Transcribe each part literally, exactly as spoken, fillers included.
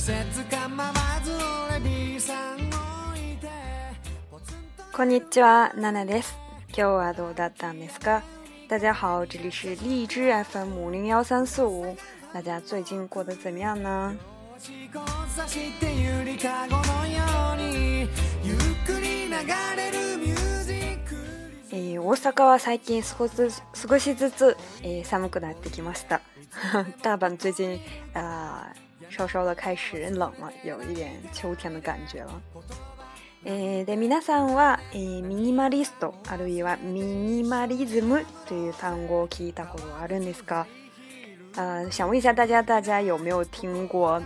こんにちは、ナナです。今日はどうだったんですか？大家好，这里是荔枝 F M 五零幺三四五。大家最近过得怎么样呢？えー、大阪は最近少し少しずつ、えー、寒くなってきました。大阪最近啊、呃、稍稍的开始冷了，有一点秋天的感觉了。えー、で皆さんは、えー、ミニマリストあるいはミニマリズムという単語を聞いたことあるんですか？呃，想问一下大家，大家有没有听过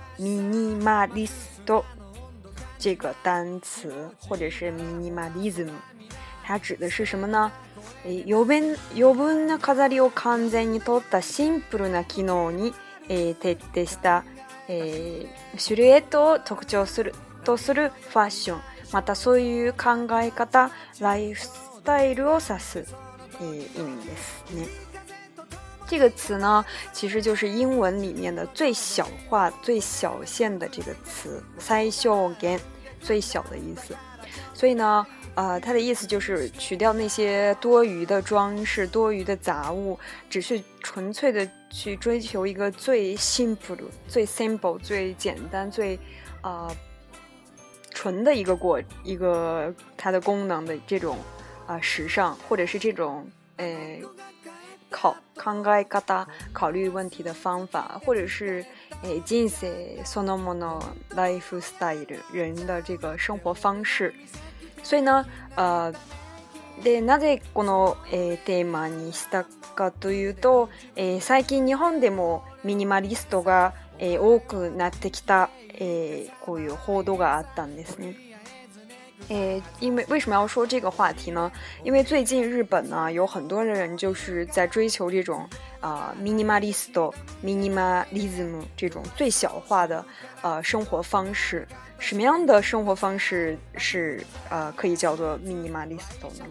minimalist 这个单词，或者是 minimalism？ 它指的是什么呢？えー、余分余分な飾りを完全に取ったシンプルな機能に、えー、徹底した、えー、シルエットを特徴するとするファッション。またそういう考え方、ライフスタイルを指す、えー、意味ですね。这个词呢，其实就是英文里面的最小化、最小限的这个词，最小限，最小的意思。所以呢，呃，它的意思就是取掉那些多余的装饰、多余的杂物，只是纯粹的去追求一个最 simple、最 simple、最简单、最呃。纯的一个过一个它的功能的这种啊、呃、时尚，或者是这种呃考考え方考虑问题的方法，或者是诶人生そのものライフスタイル人的这个生活方式。所以呢，呃，でなぜこの、えー、テーマにしたかというと、えー、最近日本でもミニマリストが、えー、多くなってきた。诶，こういう報道があったんですね。诶，因为为什么要说这个话题呢？因为最近日本呢有很多人就是在追求这种啊、呃、minimalist、minimalism 这种最小化的呃生活方式。什么样的生活方式是呃可以叫做 minimalist 呢？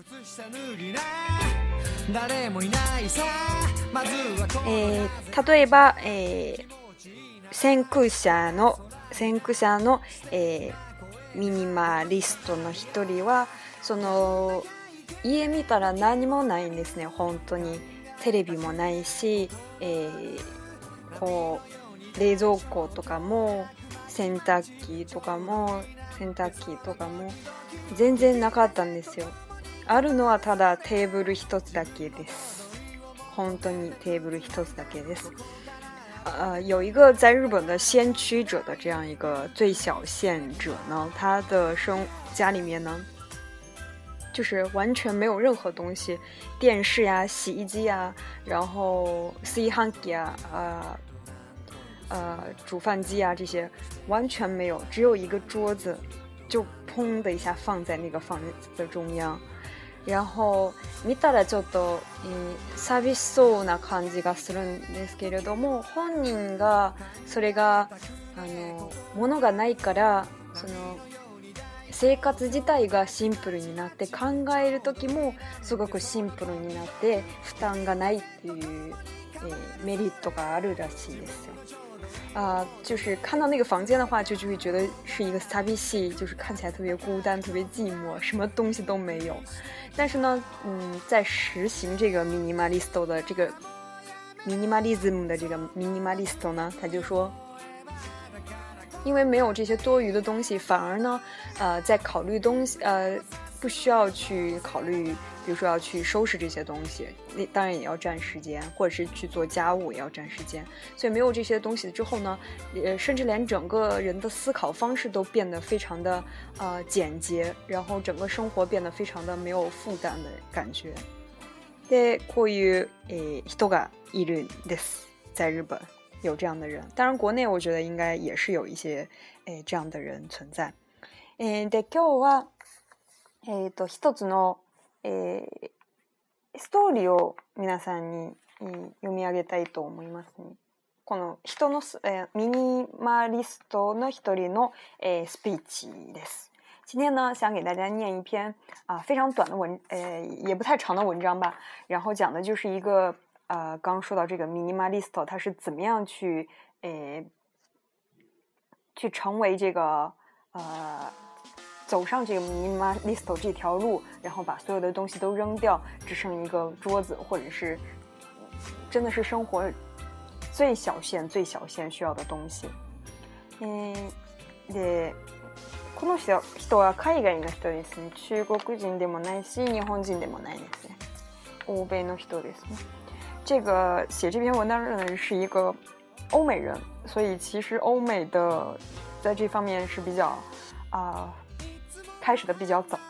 えー、例えば、えー先駆者の先駆者の、えー、ミニマリストの一人はその家見たら何もないんですね。本当にテレビもないし、えー、こう冷蔵庫とかも洗濯機とかも洗濯機とかも全然なかったんですよ。あるのはただテーブル一つだけです。本当にテーブル一つだけです。呃，有一个在日本的先驱者的这样一个最小限者呢，他的生家里面呢，就是完全没有任何东西，电视呀、洗衣机呀，然后炊飯器啊、呃呃煮饭机啊这些完全没有，只有一个桌子，就砰的一下放在那个房子的中央。然後見たらちょっと、えー、寂しそうな感じがするんですけれども、本人がそれがあの物がないからその生活自体がシンプルになって考える時もすごくシンプルになって負担がないっていう、えー、メリットがあるらしいですよ。啊、呃，就是看到那个房间的话，就就会觉得是一个寂しい，就是看起来特别孤单、特别寂寞，什么东西都没有。但是呢，嗯，在实行这个 minimalist 的这个 minimalism 的这个 minimalist 呢，他就说，因为没有这些多余的东西，反而呢，呃，在考虑东西，呃，不需要去考虑，比如说要去收拾这些东西，那当然也要占时间，或者是去做家务也要占时间。所以没有这些东西之后呢，呃，甚至连整个人的思考方式都变得非常的呃简洁，然后整个生活变得非常的没有负担的感觉。で、こういうえ人がいるんです。在日本有这样的人，当然国内我觉得应该也是有一些え这样的人存在。えで今日はえっと一つの、えー、ストーリーを皆さんに、えー、読み上げたいと思いますね。この人の、えー、ミニマリストの一人の、えー、スピーチです。今天呢，想给大家念一篇啊、呃、非常短的文，呃也不太长的文章吧。然后讲的就是一个呃刚说到这个 minimalist 他是怎么样去呃去成为这个呃走上这个 minimalist 这条路，然后把所有的东西都扔掉，只剩一个桌子，或者是真的是生活最小限最小限需要的东西。嗯，でこの人人は海外の人ですね。中国人でもないし、日本人でもないですね。欧米の人ですね。这个写这篇文章的人是一个欧美人，所以其实欧美的在这方面是比较啊、呃、开始的比较早。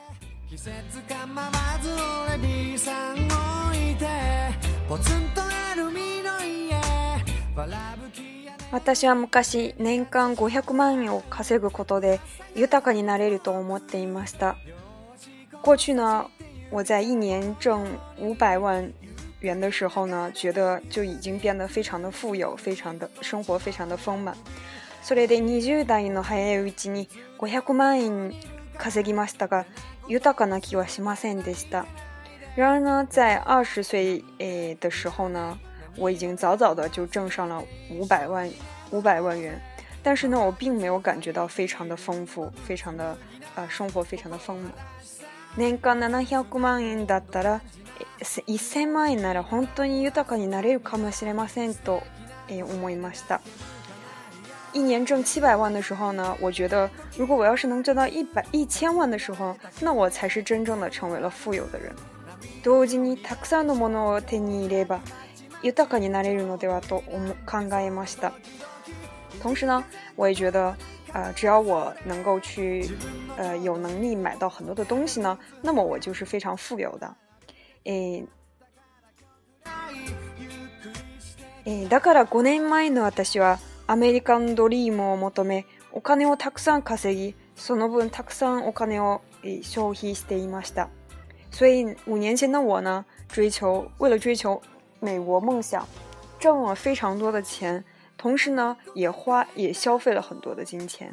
私は昔年間ごひゃくまん円を稼ぐことで豊かになれると思っていました。过去呢，我在一年挣五百万元的时候呢，觉得就已经变得非常的富有，非常的生活非常的丰满。それでにじゅう代の早いうちにごひゃくまん円稼ぎましたが、豊かな気はしませんでした。然而呢，在二十岁诶的时候呢，我已经早早的就挣上了五百万五百万元，但是呢，我并没有感觉到非常的丰富，非常的呃生活非常的丰满。年間ななひゃくまん円だったらせんまん円なら本当に豊かになれるかもしれませんと思いました。一年挣七百万的时候呢，我觉得如果我要是能挣到一百一千万的时候，那我才是真正的成为了富有的人。同時にたくさんのものを手に入れれば豊かになれるのではと考えました。同时呢，我也觉得呃，只要我能够去呃有能力买到很多的东西呢，那么我就是非常富有的。えー、だからごねんまえの私はアメリカンドリームを求めお金をたくさん稼ぎ、その分たくさんお金を消費していました。所以五年前的我呢，追求为了追求美国梦想，挣了非常多的钱，同时呢，也花也消费了很多的金钱。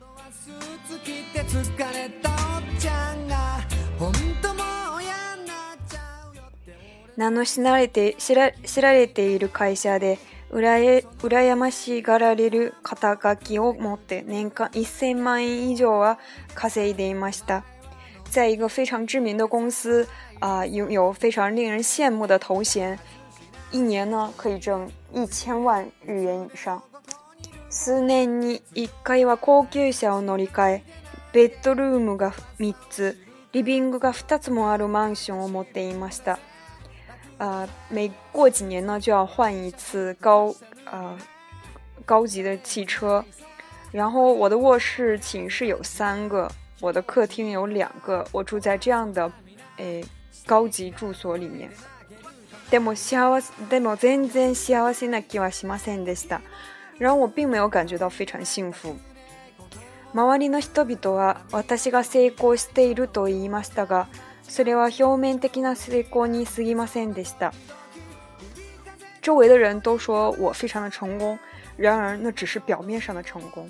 名の知られて知ら知られている会社でうらや羨ましがられる肩書きを持って年間せん万円以上は稼いでいました。在一个非常知名的公司啊、呃，拥有非常令人羡慕的头衔，一年呢可以挣一千万日元以上。数年に一回は高級車を乗り換え、ベッドルームがみっつ、リビングがふたつもあるマンションを持っていました。呃，每过几年呢就要换一次高呃高级的汽车，然后我的卧室寝室有三个，我的客厅有两个，我住在这样的诶高级住所里面。でも幸せでも全然幸せな気はしませんでした。然后我并没有感觉到非常幸福。周りの人々は私が成功していると言いましたが、それは表面的な成功に過ぎませんでした。周围的人都说我非常的成功，然而那只是表面上的成功。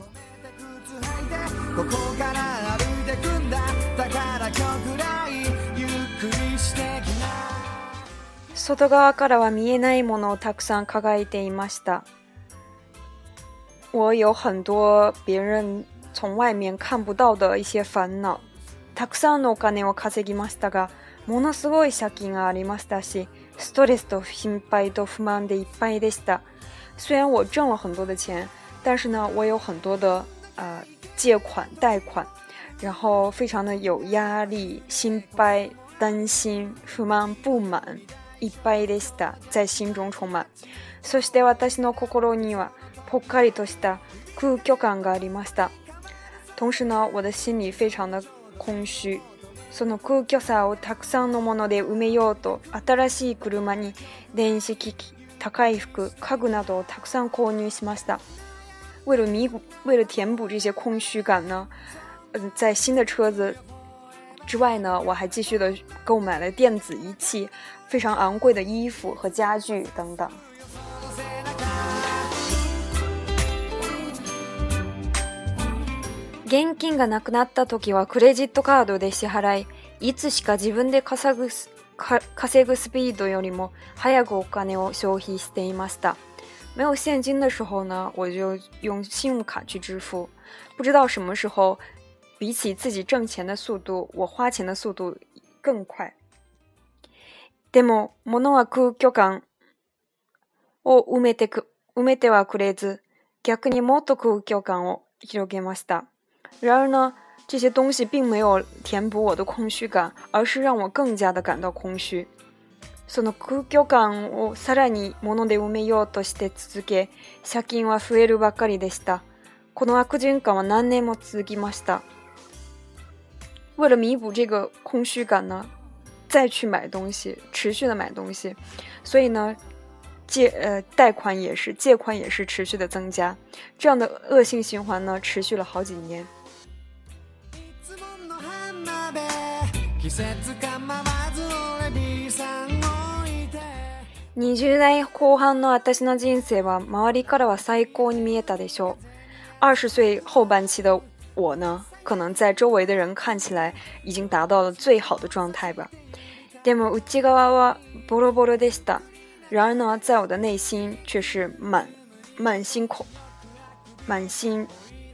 外側からは見えないものをたくさん抱えていました。我有很多别人从外面看不到的一些烦恼。たくさんのお金を稼ぎましたが、ものすごい借金がありましたし、ストレスと心配と不満でいっぱいでした。虽然我挣了很多的钱，但是呢，我有很多的呃借款、贷款，然后非常的有压力、心配、担心、不満、不满。いっぱいでした。在心中充满。そして私の心にはぽっかりとした空虚感がありました。同時呢，我的心里非常的空虚。その空虚さをたくさんのもので埋めようと、新しい車に電子機器、高い服、家具などをたくさん購入しました。为了弥补、为了填补这些空虚感呢，呃，在新的车子之外呢，我还继续的购买了电子仪器、非常昂贵的衣服和家具等等。現金がなくなった時はクレジットカードで支払い、いつしか自分で稼ぐ、稼ぐスピードよりも早くお金を消費していました。 没有现金的时候呢，我就用信用卡去支付。不知道什么时候，比起自己挣钱的速度，我花钱的速度更快。でも、物は空虚感を埋めてく、埋めてはくれず、逆にもっと空虚感を広げました。然而呢，这些东西并没有填补我的空虚感，而是让我更加的感到空虚。その空虚感をさらに物で埋めようとして続け、借金は増えるばかりでした。この悪循環は何年も続きました。为了弥补这个空虚感呢，再去买东西，持续的买东西，所以呢，借呃贷款也是借款也是持续的增加，这样的恶性循环呢，持续了好几年。にじゅう代後半の私の人生は周りからは最高に見えたでしょう。二十岁后半期的我呢，可能在周围的人看起来已经达到了最好的状态吧。でも内側はボロボロでした。然而呢，在我的内心却是满满心恐满心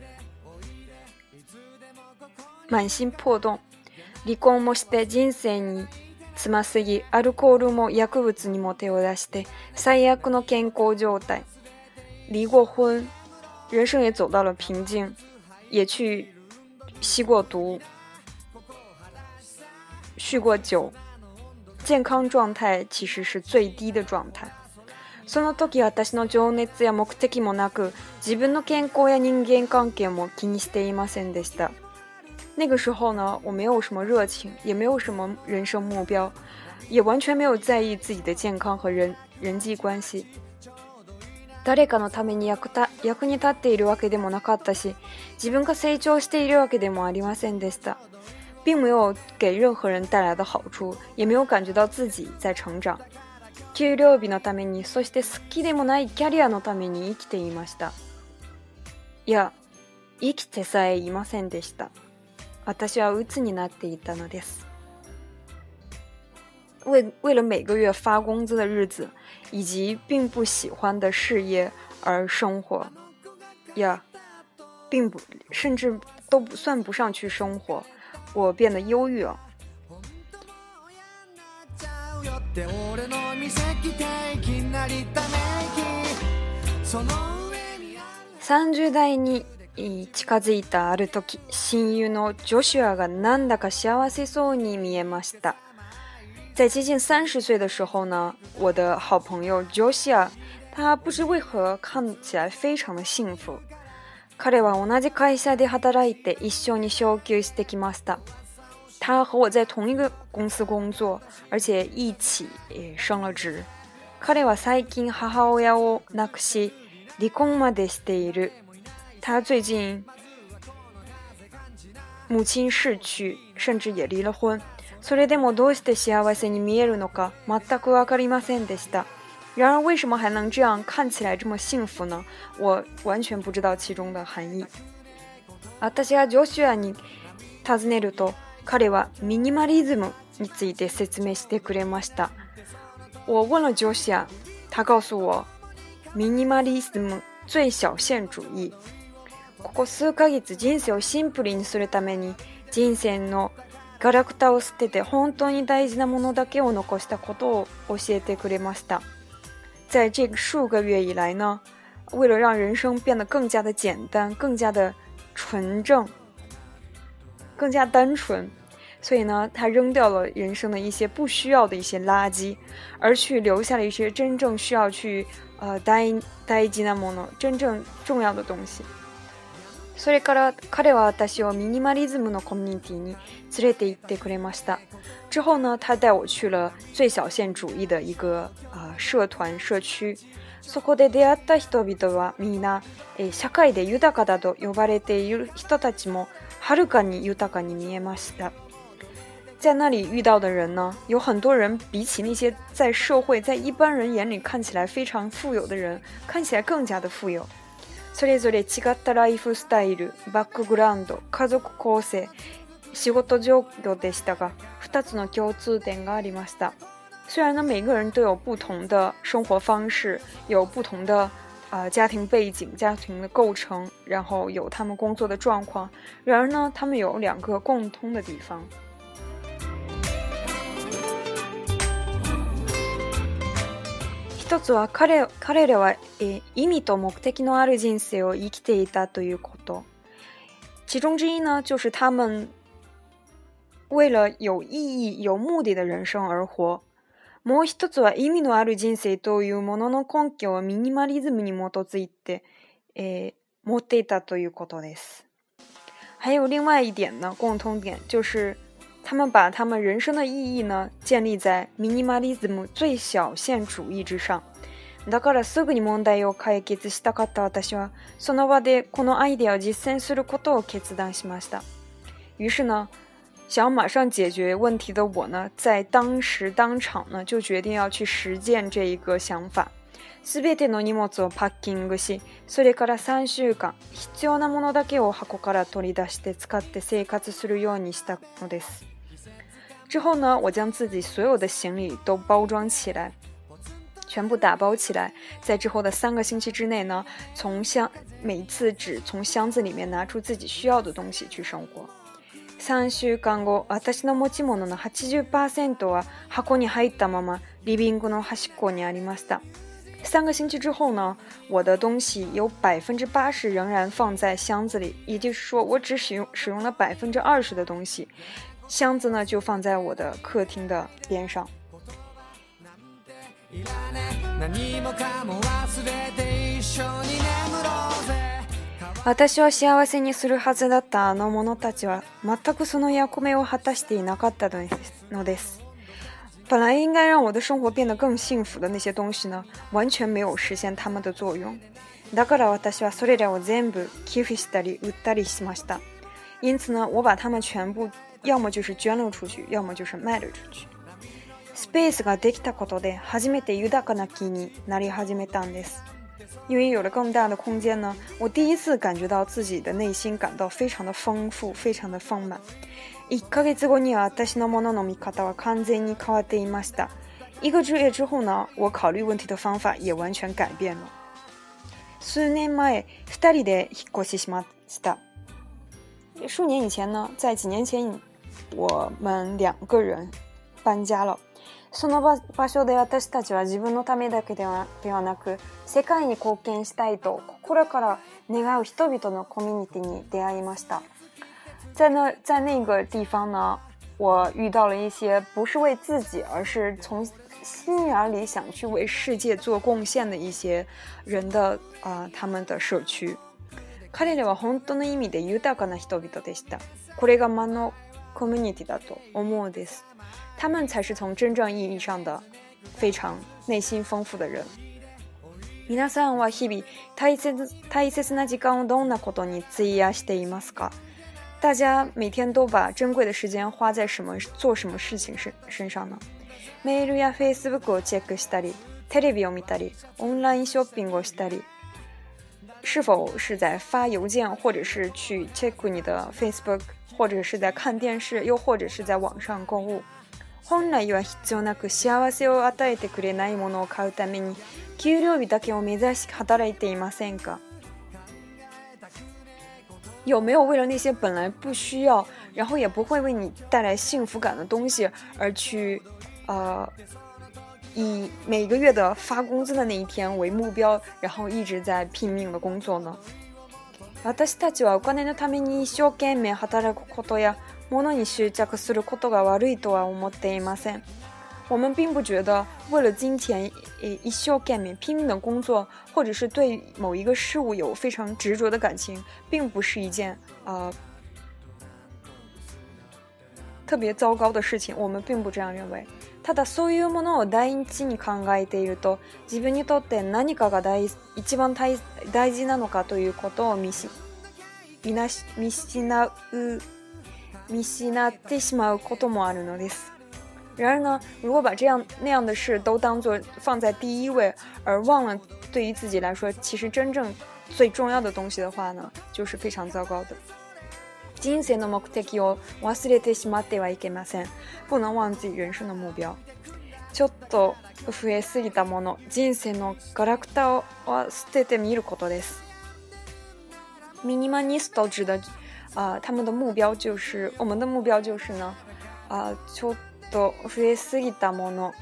满心破洞。離婚もして人生につますぎ、アルコールも薬物にも手を出して最悪の健康状態。離过婚，人生也走到了瓶颈，也去吸过毒，酗过酒，健康状態其实是最低的状態。その時私の情熱や目的もなく、自分の健康や人間関係も気にしていませんでした。那个时候呢，我没有什么热情，也没有什么人生目标，也完全没有在意自己的健康和人人际关系。誰かのために 役, た役に立っているわけでもなかったし、自分が成長しているわけでもありませんでした。并没有给任何人带来的好处，也没有感觉到自己在成长。給料日のために、そして好きでもないキャリアのために生きていました。いや、生きてさえいませんでした。私は鬱になっていたのです。为为了每个月发工资的日子，以及并不喜欢的事业而生活，呀，并不，甚至都不算不上去生活，我变得忧郁了。さんじゅう代に近づいたある時、親友のジョシュアがなんだか幸せそうに見えました。在接近三十岁的时候呢，我的好朋友 Joshua， 他不知为何看起来非常的幸福。彼は同じ会社で働いて一緒に昇給してきました。他和我在同一个公司工作，而且一起也升了职。彼は最近母親を亡くし、離婚までしている。他最近母亲逝去，甚至也离了婚。それでもどうして幸せに見えるのか全くわかりませんでした。然而为什么还能这样看起来这么幸福呢？我完全不知道其中的含义。私がジョシュアに尋ねると、彼はミニマリズムについて説明してくれました。我问了ジョシュア，他告诉我，ミニマリズム最小限主義。ここ数ヶ月人生をシンプルにするために、人生のガラクタを捨てて本当に大事なものだけを残したことを教えてくれました。在这数个月以来呢，为了让人生变得更加的简单，更加的纯正，更加单纯，所以呢，他扔掉了人生的一些不需要的一些垃圾，而去留下了一些真正需要去呃大大事なもの、真正重要的东西。それから彼は私をミニマリズムのコミュニティに連れて行ってくれました。之后呢，他带我去了最小限主義的一个呃社团社区。そこで出会った人々はみんな、えー、社会で豊かだと呼ばれている人たちもはるかに豊かに見えました。在那里遇到的人呢，有很多人比起那些在社会在一般人眼里看起来非常富有的人，看起来更加的富有。それぞれ違ったライフスタイル、バックグラウンド、家族構成、仕事状況でしたが、二つの共通点がありました。虽然呢，每个人都有不同的生活方式，有不同的呃家庭背景、家庭的构成，然后有他们工作的状况。然而呢，他们有两个共通的地方。一つは 彼, 彼らは、えー、意味と目的のある人生を生きていたということ。其中之一呢，就是他们为了有意义、有目的的人生而活。もう一つは意味のある人生というものの根拠をミニマリズムに基づいて、えー、持っていたということです。还有另外一点呢，共通点就是他们把他们人生的意义呢建立在ミニマリズム最小限主義之上。だからすぐに問題を解決したかった私はその場でこのアイデアを実践することを決断しました。于是呢，想要马上解决问题的我呢，在当时当场呢就决定要去实践这一个想法。すべての荷物をパッキングし、それからさんしゅうかん必要なものだけを箱から取り出して使って生活するようにしたのです。之后呢，我将自己所有的行李都包装起来，全部打包起来，在之后的三个星期之内呢，从箱每一次只从箱子里面拿出自己需要的东西去生活。さんしゅうかんご、私の持ち物の はちじゅっパーセント は箱に入ったままリビングの端っこにありました。三个星期之后呢，我的东西有百分之八十仍然放在箱子里，也就是说，我只使用使用了百分之二十的东西。箱子呢就放在我的客厅的边上。私を幸せにするはずだったあの者たちは全くその役目を果たしていなかったのです。本来应该让我的生活变得更幸福的那些东西呢，完全没有实现他们的作用。だから私はそれらを全部寄付したり売ったりしました。因此呢，我把它们全部要么就是捐了出去，要么就是卖了出去。スペースができたことで初めて豊かな気になり始めたんです。因为有了更大的空间呢，我第一次感觉到自己的内心感到非常的丰富，非常的丰满。いっかげつごには私のものの見方は完全に変わっていました。一个月之后呢，我考虑问题的方法也完全改变了。数年前、二人で引っ越ししました。数年以前呢，在几年前，我们两个人搬家了。その場所で私たちは自分のためだけでは、ではなく、世界に貢献したいと心から願う人々のコミュニティに出会いました。在那在那个地方呢，我遇到了一些不是为自己，而是从心眼里想去为世界做贡献的一些人的啊、呃，他们的社区。彼らは本当の意味で豊かな人々でした。これが魔のコミュニティだと思うです。他们才是从真正意义上的非常内心丰富的人。皆さんは日々大切大切な時間をどんなことに費やしていますか？大家每天都把珍贵的时间花在什么做什么事情身上呢？メールや Facebook をチェックしたり、テレビを見たり、オンラインショッピングをしたり。是否是在发邮件，或者是去 check 你的 Facebook， 或者是在看电视，又或者是在网上购物？本来は必要なく幸せを与えてくれないものを買うために給料日だけを目指し働いていませんか？有没有为了那些本来不需要，然后也不会为你带来幸福感的东西而去呃以每个月的发工资的那一天为目标，然后一直在拼命的工作呢？私たちはお金のために一生懸命働くことや物に執着することが悪いとは思っていません。我们并不觉得为了金钱一生懸命拼命的工作，或者是对某一个事物有非常执着的感情，并不是一件呃特别糟糕的事情。我们并不这样认为。ただそういうものを第一に考えていると、自分にとって何かが大一番大大事なのかということを見し見なし見失う見失ってしまうこともあるのです。然而呢，如果把这样那样的事都当作放在第一位，而忘了对于自己来说其实真正最重要的东西的话呢，就是非常糟糕的。人生の目的を忘れてしまってはいけません。不能忘记人生的目标。 ちょっと増えすぎたもの、人生のガラクタは捨ててみることです。ミニマニスト指的啊、呃，他们的目标就是，我们的目标就是呢，啊、呃，ちょっと増えすぎたもの，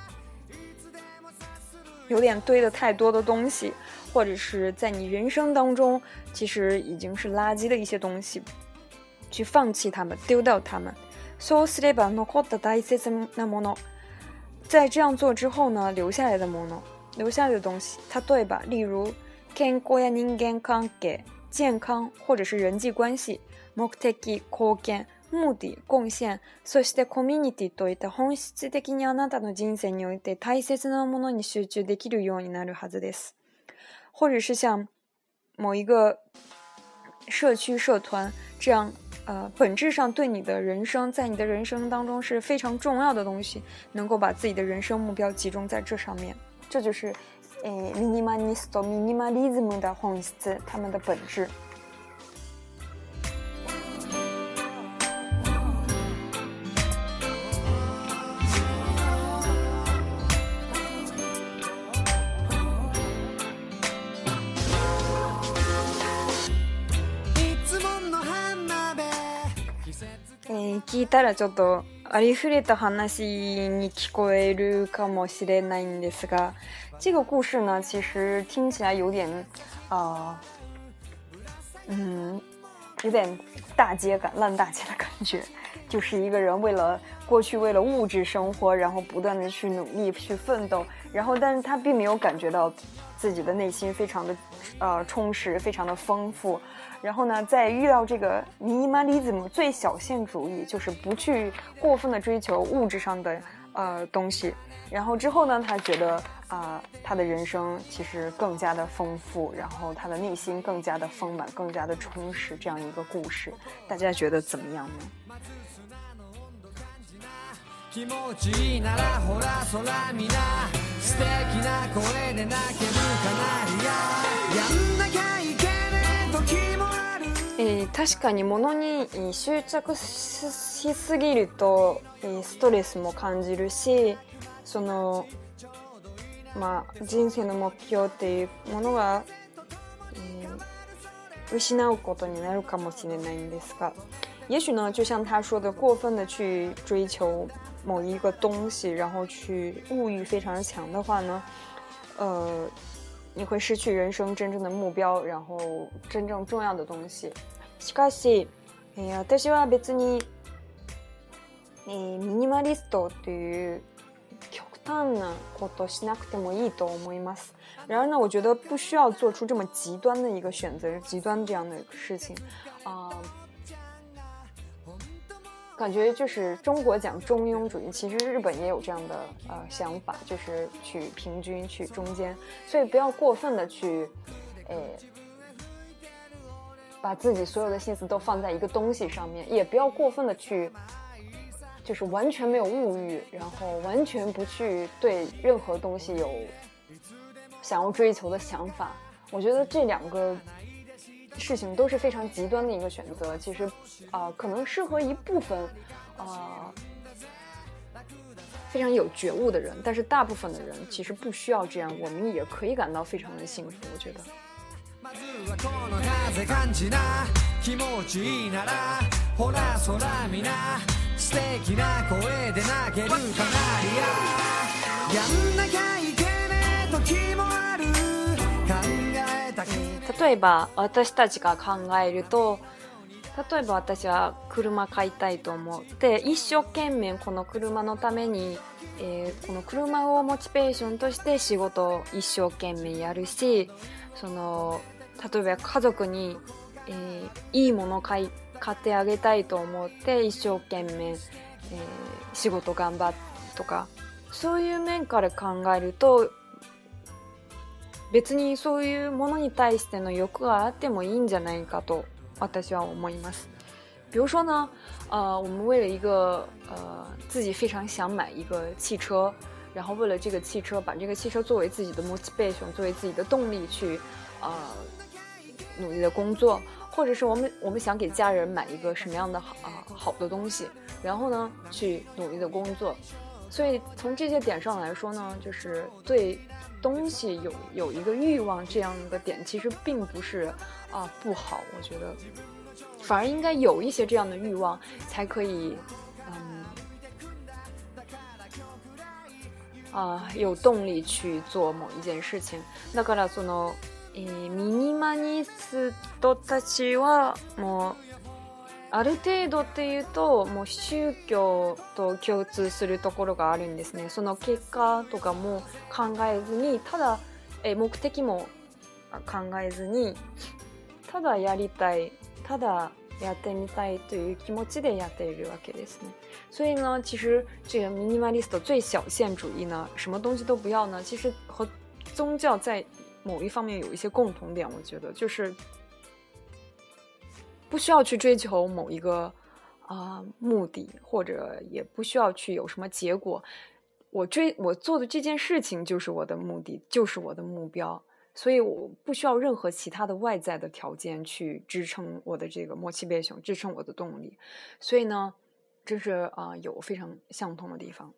有点堆的太多的东西，或者是在你人生当中其实已经是垃圾的一些东西，去放弃它们，丢掉它们。そうすれば残った大切なもの。在这样做之后呢，留下来的もの，留下来的东西，例えば，例如健康や人間関係、健康或者是人际关系、目的、貢献、目的、貢献、そしてコミュニティといった本質的にあなたの人生において大切なものに集中できるようになるはずです。或者是像某一个社区社团这样。呃，本质上对你的人生，在你的人生当中是非常重要的东西，能够把自己的人生目标集中在这上面，这就是，呃，ミニマリスト、ミニマリズム的本質，他们的本质。えー、聞いたらちょっとありふれた話に聞こえるかもしれないんですが，这个故事呢，其实听起来有点，呃，嗯，有点大街感、烂大街的感觉。就是一个人为了过去为了物质生活，然后不断的去努力去奋斗，然后但是他并没有感觉到自己的内心非常的呃充实，非常的丰富。然后呢，在遇到这个 minimalism 最小限主义，就是不去过分的追求物质上的呃东西。然后之后呢，他觉得啊、呃，他的人生其实更加的丰富，然后他的内心更加的丰满，更加的充实，这样一个故事，大家觉得怎么样呢？気持ちいいならほら空見な素敵な声で泣けるかなやんなきゃいけねえ時もある、えー、確かに物に執着しすぎるとストレスも感じるし、そのまあ人生の目標っていうものが、えー、失うことになるかもしれないんですが、也许呢，就像他说的，过分的去追求某一个东西，然后去物欲非常强的话呢，呃，你会失去人生真正的目标，然后真正重要的东西。しかし、えー、私は別に、えー、ミニマリストという極端なことしなくてもいいと思います。然而呢，我觉得不需要做出这么极端的一个选择，极端这样的事情啊。呃感觉就是中国讲中庸主义，其实日本也有这样的呃想法，就是取平均、取中间，所以不要过分的去，呃，把自己所有的心思都放在一个东西上面，也不要过分的去，就是完全没有物欲，然后完全不去对任何东西有想要追求的想法。我觉得这两个事情都是非常极端的一个选择，其实啊、呃，可能适合一部分啊、呃、非常有觉悟的人，但是大部分的人其实不需要这样，我们也可以感到非常的幸福。我觉得。例えば私たちが考えると、例えば私は車買いたいと思って一生懸命この車のために、えー、この車をモチベーションとして仕事を一生懸命やるし、その例えば家族に、えー、いいものを買い買ってあげたいと思って一生懸命、えー、仕事頑張っとか、そういう面から考えると別にそういうものに対しての欲があってもいいんじゃないかと私は思います。比如说呢，呃，我们为了一个呃自己非常想买一个汽车，然后为了这个汽车，把这个汽车作为自己的 motivation， 作为自己的动力去呃努力的工作，或者是我们我们想给家人买一个什么样的好啊、呃、好的东西，然后呢去努力的工作。 所以从这些点上来说呢，就是对东西有有一个欲望这样的点，其实并不是啊、呃、不好，我觉得反而应该有一些这样的欲望，才可以嗯啊、呃、有动力去做某一件事情。だからその、えー、ミニマリストたちはもうある程度っていうともう宗教と共通するところがあるんですね。その結果とかも考えずに、ただえ目的も考えずに、ただやりたい、ただやってみたいという気持ちでやっているわけですね。所以呢，其实这个 minimalist 最小限主义呢，什么东西都不要呢，其实和宗教在某一方面有一些共同点，我觉得就是不需要去追求某一个啊、呃、目的，或者也不需要去有什么结果。我追我做的这件事情就是我的目的，就是我的目标，所以我不需要任何其他的外在的条件去支撑我的这个 motivation， 支撑我的动力。所以呢，这是啊、呃、有非常相同的地方。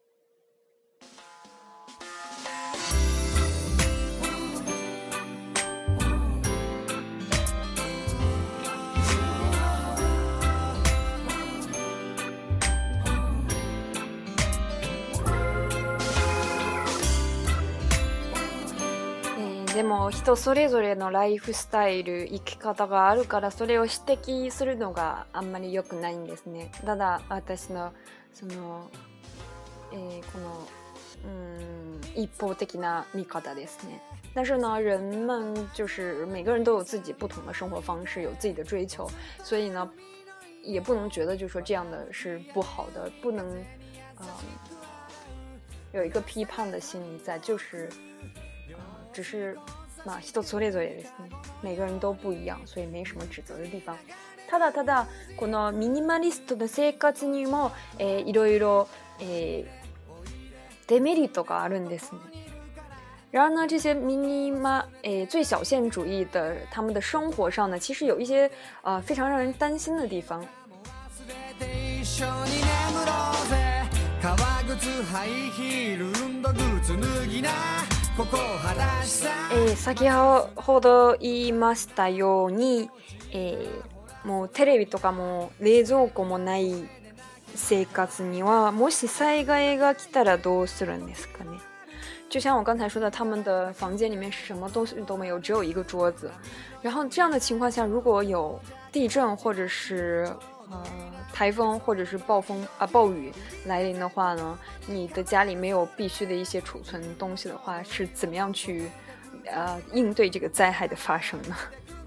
でも人それぞれのライフスタイル、生き方があるから、それを指摘するのがあんまり良くないんですね。ただ私のその、えー、この嗯一方的な見方ですね。但是呢，人们就是每个人都有自己不同的生活方式，有自己的追求，所以呢，也不能觉得就说这样的是不好的，不能嗯有一个批判的心理在，就是。只是まあ人それぞれですね。每个人都不一样，所以没什么指责的地方。ただただこのミニマリストの生活にも、えー、いろいろ、えー、デメリットがあるんですね。然而呢，这些 minima 诶最小限主义的他们的生活上呢，其实有一些呃非常让人担心的地方。えー、先ほど言いましたように、えー、もうテレビとかも冷蔵庫もない生活にはもし災害が来たらどうするんですかね。就像我刚才说的，他们的房间里面什么东西都没有，只有一个桌子。然后这样的情况下，如果有地震或者是呃台风或者是暴风啊暴雨来临的话呢，你的家里没有必须的一些储存东西的话，是怎么样去呃应对这个灾害的发生呢？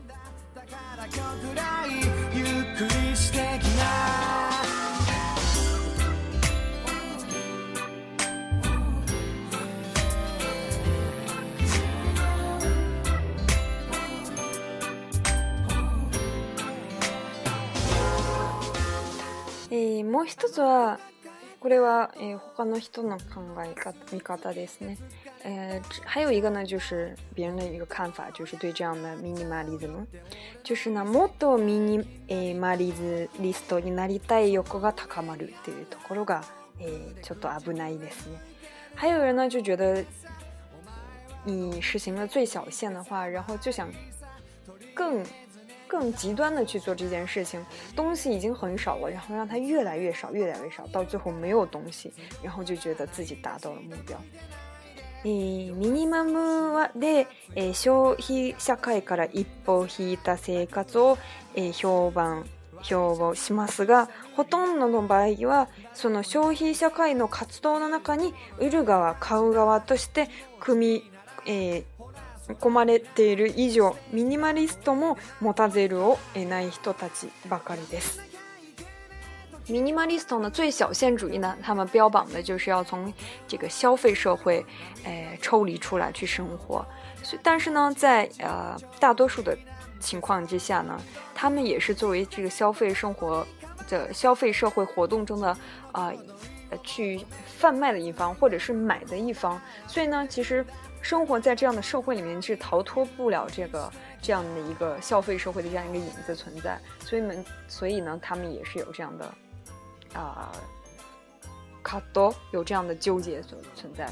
えー、もう一つはこれは、えー、他の人の考え方見方ですね。呃，还有一个呢，就是别人的一个看法，就是对这样的 minimalism， 就是呢、もっとミニ、えー、マリズリストになりたい欲が高まるっていうところが、えー、ちょっと危ないですね。还有人呢就觉得你实行了最小限的话，然后就想更。更极端的去做这件事情，东西已经很少了，然后让它越来越少越来越少，到最后没有东西，然后就觉得自己达到了目标。えー、ミニマムで、えー、消費社会から一歩引いた生活を、えー、評判標榜しますが、ほとんどの場合はその消費社会の活動の中に売る側買う側として組み、えー込まれている以上、ミニマリストも持たざるを得ない人たちばかりです。ミニマリスト呢，最小限主义呢，他们标榜的就是要从这个消费社会，呃，抽离出来去生活。但是呢，在呃大多数的情况之下呢，他们也是作为这个消费生活的消费社会活动中的啊、呃、去贩卖的一方，或者是买的一方。所以呢，其实。生活在这样的社会里面是逃脱不了这个这样的一个消费社会的这样一个影子存在，所以们所以呢，他们也是有这样的啊、呃、 卡多有这样的纠結所存在的。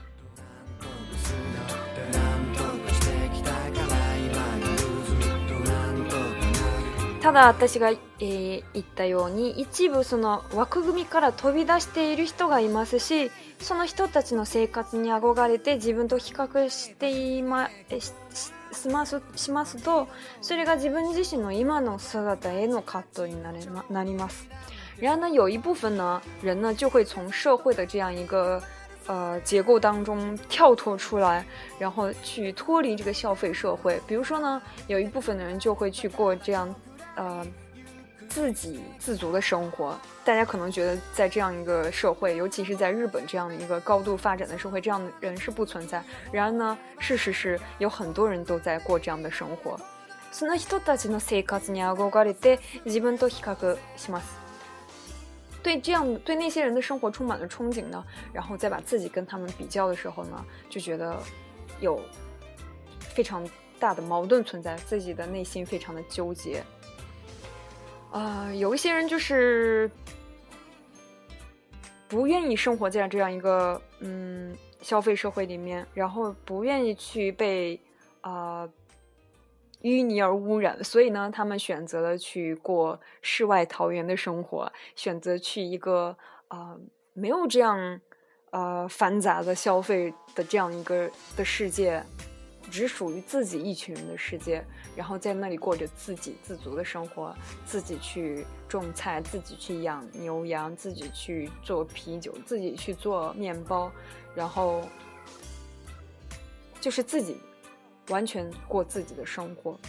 ただ私が、えー、言ったように一部その枠組みから飛び出している人がいますし、その人たちの生活に憧れて自分と比較していまししますしますと、それが自分自身の今の姿への葛藤になりまなります。然而呢，有一部分呢人呢就会从社会的这样一个呃结构当中跳脱出来，然后去脱离这个消费社会。比如说呢，有一部分的人就会去过这样呃自给自足的生活。大家可能觉得在这样一个社会，尤其是在日本这样的一个高度发展的社会，这样的人是不存在。然而呢，事实是有很多人都在过这样的生活。その人たちの生活に憧れて自分と比較します。对这样对那些人的生活充满了憧憬呢，然后再把自己跟他们比较的时候呢，就觉得有非常大的矛盾存在，自己的内心非常的纠结。呃，有一些人就是不愿意生活在这样一个嗯消费社会里面，然后不愿意去被呃淤泥而污染，所以呢，他们选择了去过世外桃源的生活，选择去一个呃没有这样呃繁杂的消费的这样一个的世界，只属于自己一群人的世界，然后在那里过着自给自足的生活，自己去种菜，自己去养牛羊，自己去做啤酒，自己去做面包，然后就是自己完全过自己的生活。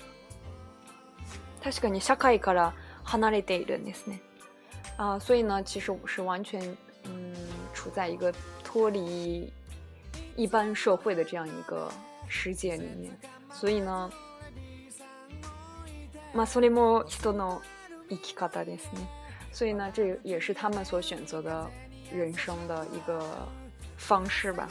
確かに社会から離れているんですね。啊，所以呢，其实我是完全嗯处在一个脱离一般社会的这样一个世界里面。所以呢，まあそれも人の生き方ですね。所以呢，这也是他们所选择的人生的一个方式吧。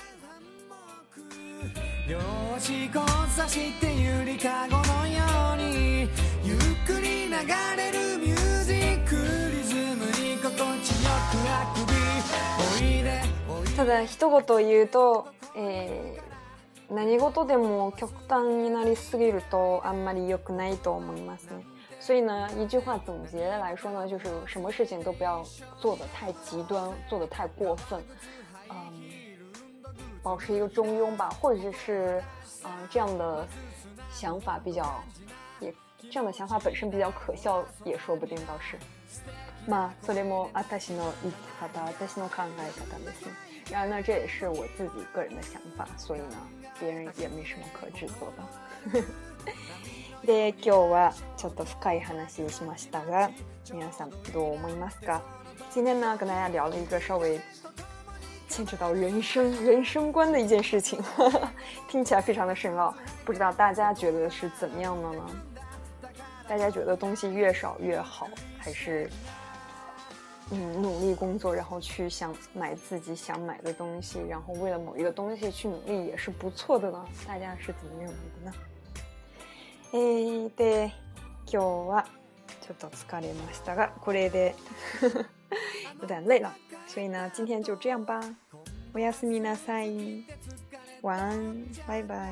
両足交差してゆりかごのようにゆっくり流れるミュージックリズムに心地よくあくびおいでおいで。ただ一言言うと、えー、何事でも極端になりすぎるとあんまり良くないと思いますね。所以呢，一句话总结来说呢，就是什么事情都不要做得太极端，做得太过分。嗯。保持一个中庸吧，或者是呃这样的想法比较也这样的想法本身比较可笑也说不定倒是。まあそれも私の生き方、私の考え方ですね。然而呢，这也是我自己个人的想法，所以呢，别人也没什么可指责的。で、今日はちょっと深い話しましたが、皆さんどう思いますか？今天呢，跟大家聊了一个稍微牵扯到人生人生观的一件事情，呵呵，听起来非常的深奥，不知道大家觉得是怎么样的呢？大家觉得东西越少越好，还是嗯努力工作，然后去想买自己想买的东西，然后为了某一个东西去努力也是不错的呢？大家是怎么认为的呢？えー、で今日はちょっと疲れましたが、これで有点累了。所以呢，今天就这样吧。おやすみなさい。晚安，拜拜。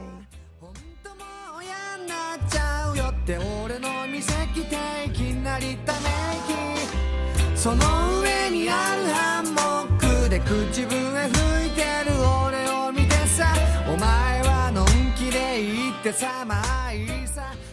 その上にあるハンモックで口笛吹いてる俺を見てさ、お前はのんきで言ってさ、まあいいさ。